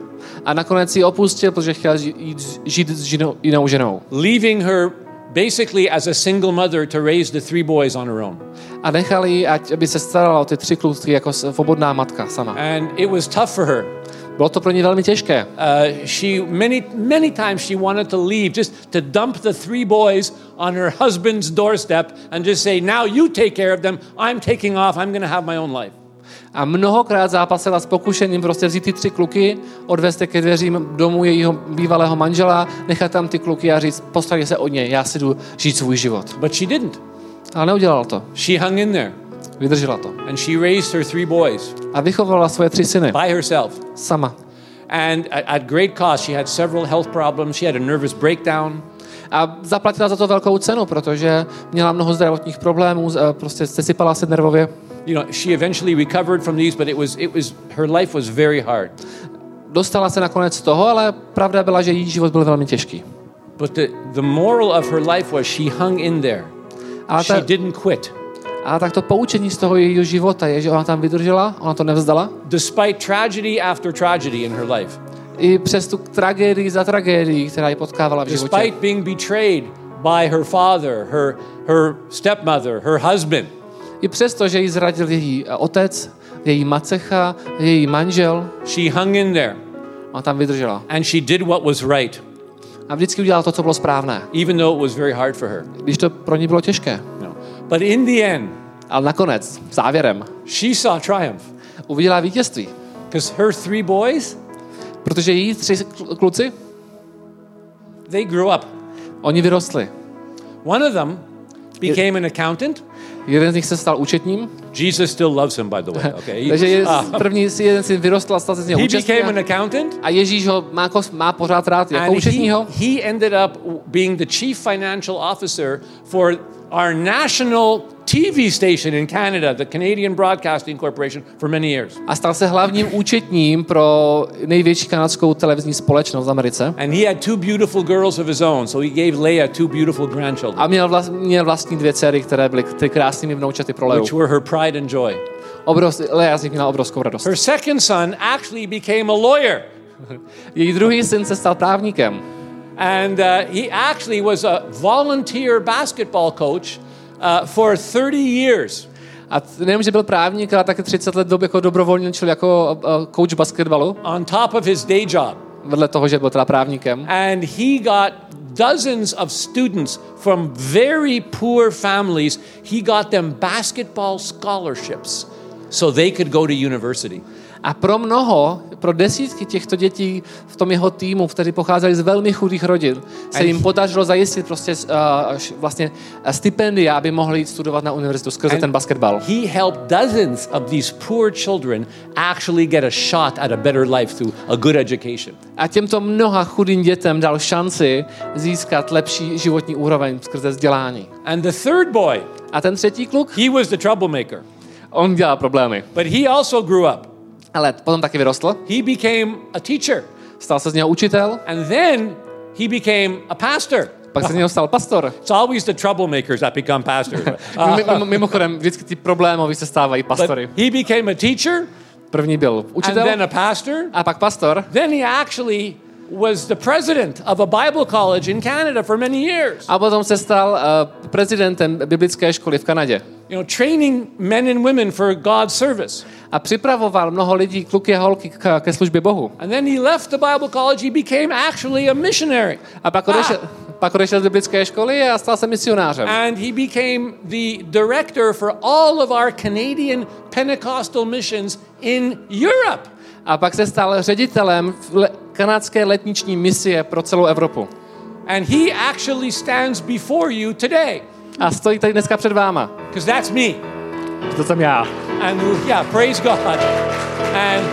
A nakonec ji opustil, protože chtěl jít žít s žinou, jinou ženou. Leaving her basically as a single mother to raise the three boys on her own. A nechal ji, ať aby se starala o ty tři kluky jako svobodná matka sama. And it was tough for her. Bylo to pro ní velmi těžké. Uh, she many many times she wanted to leave, just to dump the three boys on her husband's doorstep and just say, now you take care of them. I'm taking off. I'm going to have my own life. A mnohokrát zápasila s pokušením prostě vzít ty tři kluky, odvést je ke dveřím domu jejího bývalého manžela, nechat tam ty kluky a říct, postarej se od něj, já si jdu žít svůj život. But she didn't. Ale neudělala to. She hung in there. Vydržela to. And she raised her three boys. A vychovala svoje tři syny. By herself. Sama. And at, at great cost, she had several health problems. She had a nervous breakdown. A zaplatila za to velkou cenu, protože měla mnoho zdravotních problémů, prostě sesypala se nervově. You know, she eventually recovered from these, but it was it was her life was very hard. Dostala se nakonec z toho, ale pravda byla, že její život byl velmi těžký. But the the moral of her life was she hung in there. A She ta, didn't quit. a tak to poučení z toho jejího života je, že ona tam vydržela, ona to nevzdala. Despite tragedy after tragedy in her life. I přes tu tragédii za tragédií, která ji potkávala v životě. Despite being betrayed by her father, her her stepmother, her husband. I přesto, že ji zradil její otec, její macecha, její manžel, She hung in there. ona tam vydržela. And she did what was right, A vždycky udělala to, co bylo správné, even though it was very hard for her. když to pro ní bylo těžké. No. But in the end, Ale nakonec, závěrem, she saw triumph. uviděla vítězství. Because her three boys, Protože její tři kluci, they grew up. oni vyrostli. One of them became an accountant. Jeden z nich se stal účetním. Jesus still loves him, by the way. Okay. Takže je, Uh, první si jeden syn vyrostl a stal se z něho he účetním. became an accountant. A Ježíš ho má, má pořád rád jako And he, účetního. he ended up being the chief financial officer for our national T V station in Canada, the Canadian Broadcasting Corporation, for many years. A stal se hlavním účetním pro největší kanadskou televizní společnost v Americe. And he had two beautiful girls of his own, so he gave Leah two beautiful grandchildren, A měl, vlast, měl vlastní dvě dcery, které byly ty krásnými vnoučaty pro Leu. which were her pride and joy. Obrovs, Lea z nich měla obrovskou radost. Her second son actually became a lawyer. Její druhý syn se stal právníkem. And uh, he actually was a volunteer basketball coach uh, for thirty years. A nejenom, že byl právník, ale taky třicet let dob jako dobrovolničil jako uh, coach basketbalu, On top of his day job. vedle toho, že byl teda právníkem. And he got dozens of students from very poor families. He got them basketball scholarships so they could go to university. A pro mnoho, pro desítky těchto dětí v tom jeho týmu, kteří pocházeli z velmi chudých rodin, se jim podařilo zajistit prostě uh, vlastně stipendia, aby mohli jít studovat na univerzitu skrze ten basketbal. He helped dozens of these poor children actually get a shot at a better life through a good education. A těmto mnoha chudým dětem dal šanci získat lepší životní úroveň skrze vzdělání. And the third boy, A ten třetí kluk, he was the troublemaker. on dělal problémy. But he also grew up. Ale potom taky vyrostl, He became a teacher. stal se z něho učitel, And then he became a pastor. pak se z něho stal pastor. It's always the troublemakers that become pastors. Mimo- Mimochodem, vždycky ty problémoví se stávají pastory. But he became a teacher První byl and učitel then a pastor. a pak pastor. Then he actually was the president of a Bible college in Canada for many years. A potom se stal uh, prezidentem biblické školy v Kanadě. You know, training men and women for God's service. A připravoval mnoho lidí, kluky a holky k, ke službě Bohu. And then he left the Bible college. He became actually a missionary. A pak odešel, pak odešel z biblické školy a stal se misionářem. And he became the director for all of our Canadian Pentecostal missions in Europe. A pak se stal ředitelem le- kanadské letniční misie pro celou Evropu. And he actually stands before you today. A stojí tady dneska před váma. Because that's me. To jsem já. And yeah, praise God. And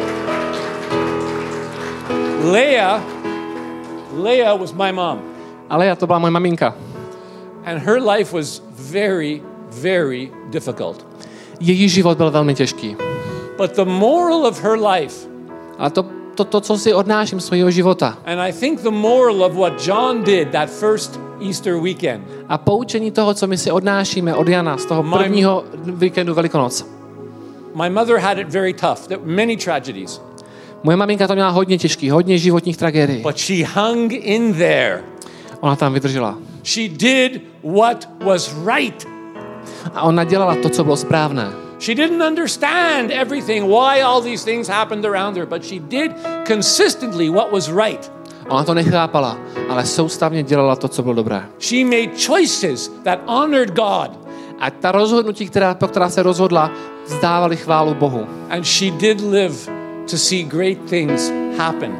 Leah, Leah was my mom. Ale já to byla moje maminka. And her life was very, very difficult. Její život byl velmi těžký. But the moral of her life, Ale to, to, to co si odnáším z svého života. and I think the moral of what John did that first Easter weekend, A poučení toho, co my si odnášíme od Jana z toho prvního víkendu Velikonoc. my mother had it very tough. There were many tragedies. Moje maminka to měla hodně těžký, hodně životních tragédií. But she hung in there. Ona tam vydržela. She did what was right. A ona dělala to, co bylo správné. She didn't understand everything, why all these things happened around her, but she did consistently what was right. Ona to nechápala, ale soustavně dělala to, co bylo dobré. She made choices that honored God. A ta rozhodnutí, která, pro která se rozhodla, vzdávaly chválu Bohu. And she did live to see great things happen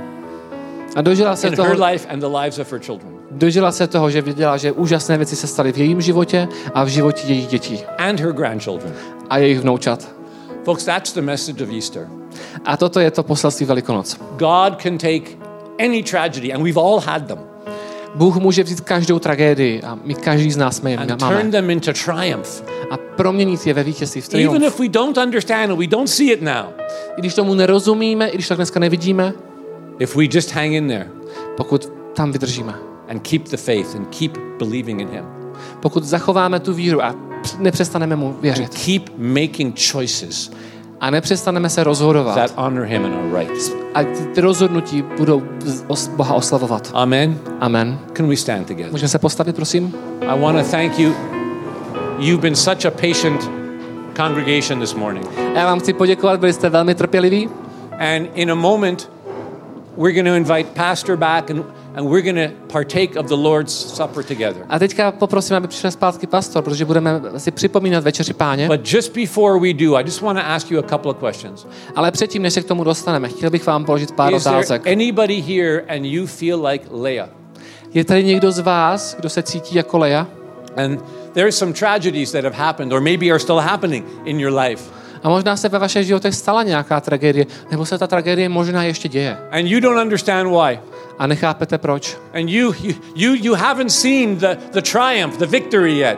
A dožila se in toho, her life and the lives of her children. dožila se toho, že viděla, že úžasné věci se staly v jejím životě a v životě jejich dětí And her grandchildren. a jejich vnoučat. Folks, that's the message of Easter. A toto je to poselství Velikonoc. God can take any tragedy, and we've all had them, Bůh může vzít každou tragédii a my každý z nás jsme je and turn máme. them into triumph. A proměnit je ve vítězství, v Even triumf. if we don't understand it, we don't see it now. I když tomu nerozumíme, i když tak dneska nevidíme, If we just hang in there pokud tam vydržíme. and keep the faith and keep believing in Him, Pokud zachováme tu víru a nepřestaneme mu and věřit. keep making choices A nepřestaneme se rozhodovat. that honor Him and are right. A ty rozhodnutí budou os- Boha oslavovat. Amen. Amen. Can we stand together? Můžeme se postavit, prosím? I want to thank you. You've been such a patient congregation this morning. Já vám chci poděkovat, byli jste velmi trpěliví. And in a moment, we're going to invite Pastor back and, and we're going to partake of the Lord's Supper together. A teďka poprosím, aby přišel zpátky pastor, protože budeme si připomínat večeři Páně. But just before we do, I just want to ask you a couple of questions. Ale předtím, než se k tomu dostaneme, chtěl bych vám položit pár Is there otázek. anybody here and you feel like Leah? Je tady někdo z vás, kdo se cítí jako Lea? And there's some tragedies that have happened or maybe are still happening in your life. A možná se ve vašich životech stala nějaká tragédie, nebo se ta tragédie možná ještě děje. And you don't understand why. A nechápete proč. And you you you, you haven't seen the, the triumph, the victory yet.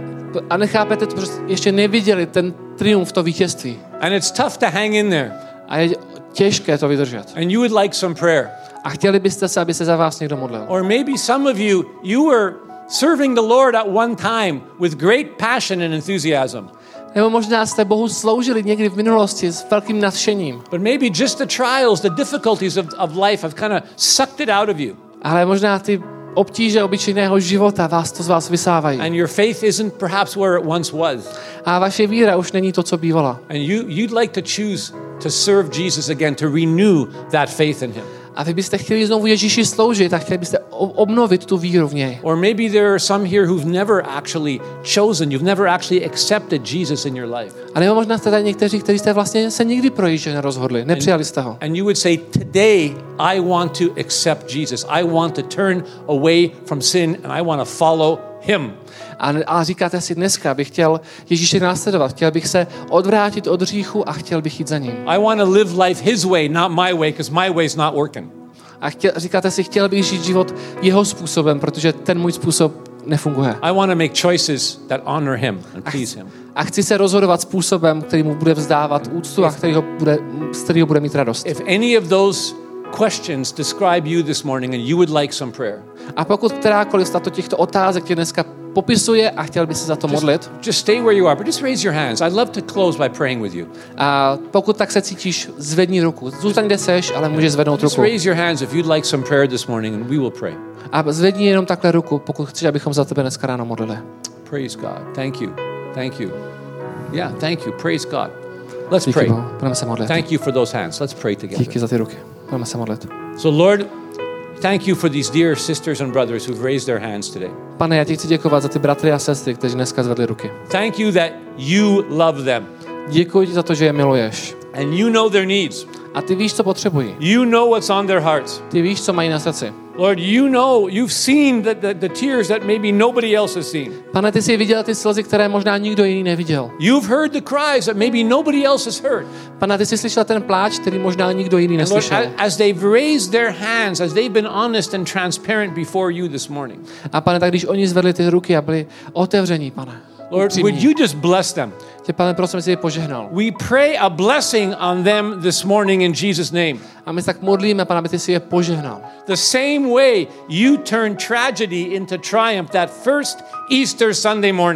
A nechápete, protože ještě neviděli ten triumf, to vítězství. And it's tough to hang in there. A je těžké to vydržet. And you would like some prayer. A chtěli byste se, aby se za vás někdo modlil. Or maybe some of you, you were serving the Lord at one time with great passion and enthusiasm. Nebo možná jste Bohu sloužili někdy v minulosti s velkým nadšením. But maybe just the trials, the difficulties of, of life have kind of sucked it out of you. Ale možná ty obtíže obyčejného života vás to z vás vysávají. And your faith isn't perhaps where it once was. A vaše víra už není to, co bývala. And you, you'd like to choose to serve Jesus again, to renew that faith in Him. A vy byste chtěli znovu Ježíši sloužit a chtěli byste obnovit tu víru v něj. Or maybe there are some here who've never actually chosen, you've never actually accepted Jesus in your life. A nebo možná jste tady někteří, kteří jste vlastně se nikdy pro Ježíše nerozhodli, nepřijali jste ho. And you would say, today I want to accept Jesus. I want to turn away from sin and I want to follow Him. A, a říkáte si, dneska bych chtěl Ježíše následovat, chtěl bych se odvrátit od hříchu a chtěl bych jít za ním. I want to live life His way, not my way, because my way's not working. A chtěl, říkáte si, chtěl bych žít život jeho způsobem, protože ten můj způsob nefunguje. I want to make choices that honor Him and please Him. A chci se rozhodovat způsobem, který mu bude vzdávat úctu a který ho bude, z kterého bude mít radost. If any of those questions describe you this morning and you would like some prayer, A pokud kterákoliv z tato těchto otázek tě dneska popisuje a chtěl by se za to modlit, just, just stay where you are, but just raise your hands. I'd love to close by praying with you. a pokud tak se cítíš, zvedni ruku. Zůstaň, kde seš, ale můžeš zvednout Just ruku. raise your hands if you'd like some prayer this morning and we will pray. A zvedni jenom takhle ruku, pokud chceš, abychom za tebe dneska ráno modlili. Praise God. Thank you. Thank you. Yeah, thank you. Praise God. Let's Díky pray. Bohu. Budeme se modlit. Thank you for those hands. Let's pray together. Díky za ty ruky. Budeme se modlit. So Lord, thank you for these dear sisters and brothers who've raised their hands today. Pane, já ti chci děkovat za ty bratry a sestry, kteří dneska zvedli ruky. Thank you that you love them Děkuji ti za to, že je miluješ. and you know their needs. A ty víš, co potřebují. You know what's on their hearts. Ty víš, co mají na srdci. Lord, you know, you've seen the, the, the tears that maybe nobody else has seen. Pane, ty jsi viděl ty slzy, které možná nikdo jiný neviděl. You've heard the cries that maybe nobody else has heard. Pane, ty jsi slyšel ten pláč, který možná nikdo jiný And Lord, neslyšel. as they've raised their hands, as they've been honest and transparent before you this morning, A pane, tak když oni zvedli ty ruky a byli otevření, pane. Lord, upřímní, would you just bless them? tě, pane, prosím, jsi je požehnal. We pray a blessing on them this morning in Jesus' name. A my se tak modlíme, pane, aby ty si je požehnal. The same way you turned tragedy into triumph that first Easter Sunday morning.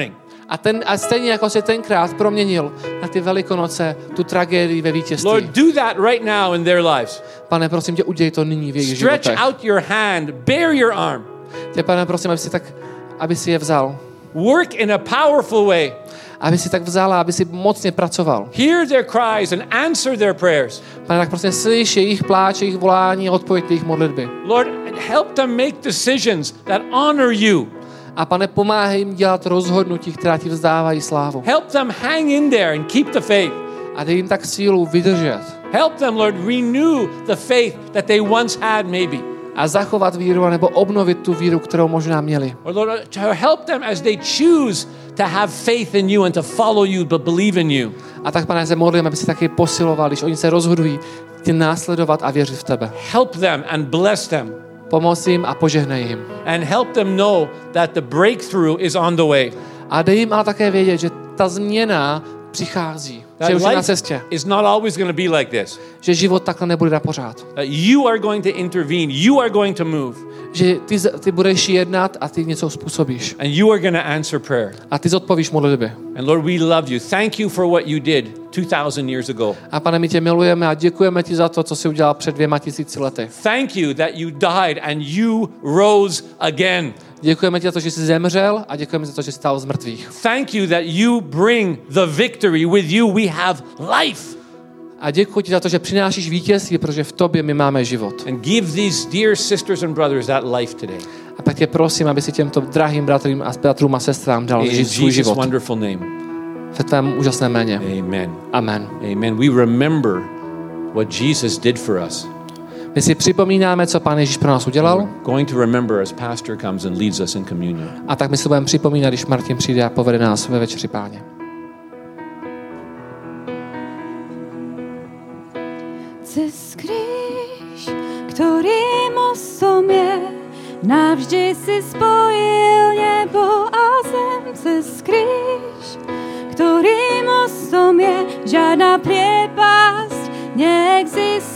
A, ten, a stejně jako se tenkrát proměnil na ty Velikonoce, tu tragédii ve vítězství. Lord, do that right now in their lives. Pane, prosím tě, udělej to nyní v jejich Stretch životech. out your hand, bare your arm. Tě, Pane, prosím, aby si tak, aby si je vzal. Work in a powerful way. Aby si tak vzal a aby si mocně pracoval. Hear their cries and answer their prayers. Pane, tak prosím, slyš jejich pláč, jejich volání a odpověď jejich modlitby. Lord, help them make decisions that honor you. A Pane, pomáhej jim dělat rozhodnutí, která ti vzdávají slávu. Help them hang in there and keep the faith. A dej jim tak sílu vydržet. Help them, Lord, renew the faith that they once had maybe. A zachovat víru, nebo obnovit tu víru, kterou možná měli. Or Lord, to help them as they choose to have faith in you and to follow you, but believe in you. A tak, Pane, se modlím, aby si taky posiloval, když oni se rozhodují tě následovat a věřit v tebe. Help them and bless them. Pomoz jim a požehnej jim. And help them know that the breakthrough is on the way. A dej jim ale také vědět, že ta změna přichází. Že už je na cestě. Is not always going to be like this. Že život takhle nebude na pořád. You are going to intervene. You are going to move. Že ty, ty budeš jednat a ty něco způsobíš. And you are going to answer prayer. A ty zodpovíš modlitby. And Lord, we love you. Thank you for what you did two thousand years ago. A Pane, my tě milujeme a děkujeme ti za to, co jsi udělal před dvěma tisíci lety. Thank you that you died and you rose again. Děkujeme ti za to, že jsi zemřel a děkujeme za to, že jsi stál z mrtvých. Thank you that you bring the victory. With you we have life. A děkuji ti za to, že přinášíš vítězství, protože v tobě my máme život. And give these dear sisters and brothers that life today. A tak tě prosím, aby si těmto drahým bratrům a bratrům a sestrám dal In žít svůj Jesus' život. wonderful name. Ve tvém úžasném jméně. Amen. Amen. Amen. We remember what Jesus did for us. My si připomínáme, co Pán Ježíš pro nás udělal. Going to remember as pastor comes and leads us in communion. A tak my si budeme připomínat, když Martin přijde a povede nás ve večeři Páně. Cez kríž, ktorý mostom je, navždy si spojil nebo a zem. Cez kríž, ktorý mostom je, žiadna priepasť neexistuje.